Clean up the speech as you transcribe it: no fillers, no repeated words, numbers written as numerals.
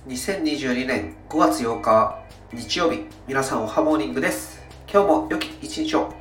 2022年5月8日日曜日、皆さんおはモーニングです。今日も良き一日を。